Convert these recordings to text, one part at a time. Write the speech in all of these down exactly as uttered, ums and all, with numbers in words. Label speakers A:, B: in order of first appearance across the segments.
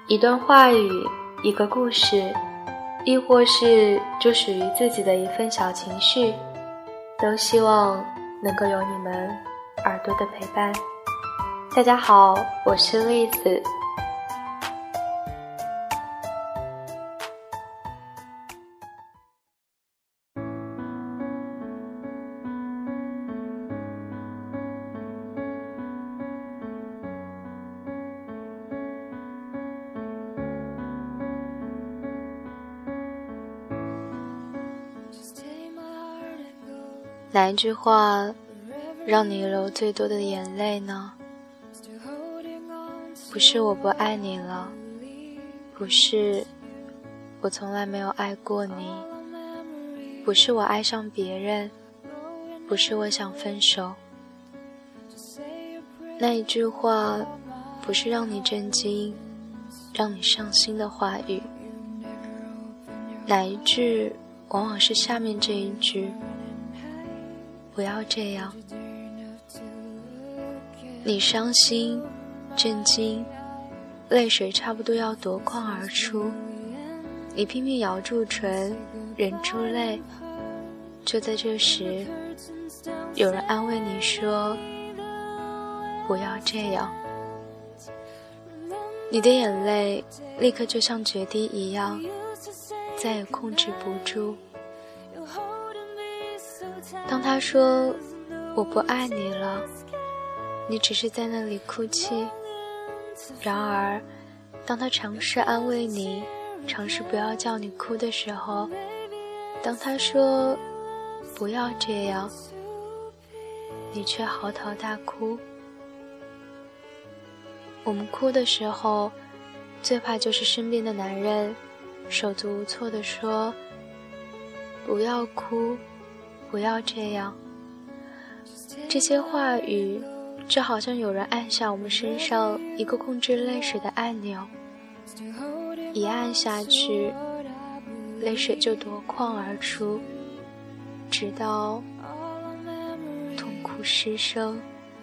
A: 一段话语，一个故事，亦或是就属于自己的一份小情绪，都希望能够有你们耳朵的陪伴。大家好，我是栗子。哪一句话让你流最多的眼泪呢？不是我不爱你了，不是我从来没有爱过你，不是我爱上别人，不是我想分手。那一句话不是让你震惊，让你伤心的话语，哪一句往往是下面这一句，不要这样。你伤心震惊，泪水差不多要夺眶而出，你拼命咬住唇忍住泪，就在这时有人安慰你说不要这样。你的眼泪立刻就像决堤一样再也控制不住。当他说我不爱你了，你只是在那里哭泣。然而当他尝试安慰你，尝试不要叫你哭的时候，当他说不要这样，你却嚎啕大哭。我们哭的时候最怕就是身边的男人手足无措地说不要哭，不要这样。这些话语就好像有人按下我们身上一个控制泪水的按钮，一按下去泪水就夺眶而出，直到痛哭失声。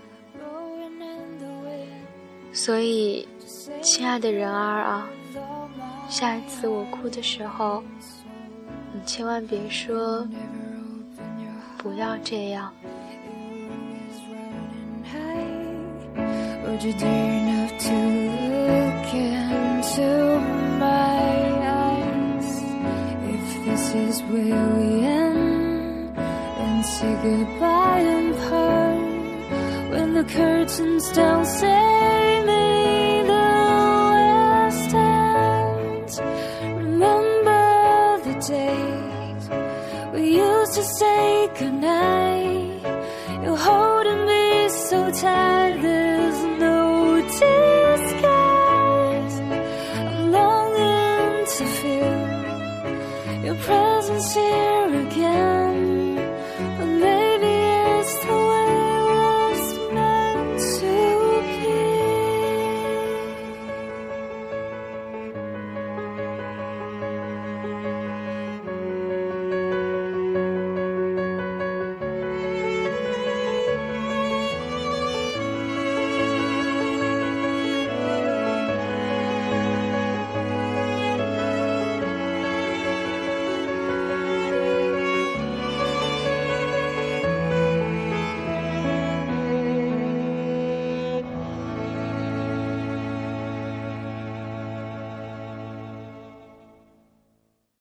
A: 所以亲爱的人儿啊，下一次我哭的时候，你千万别说不要这样。
B: Would you dare enough to look into my eyes? If this is where we end, then say goodbye and part. When the curtains down, say me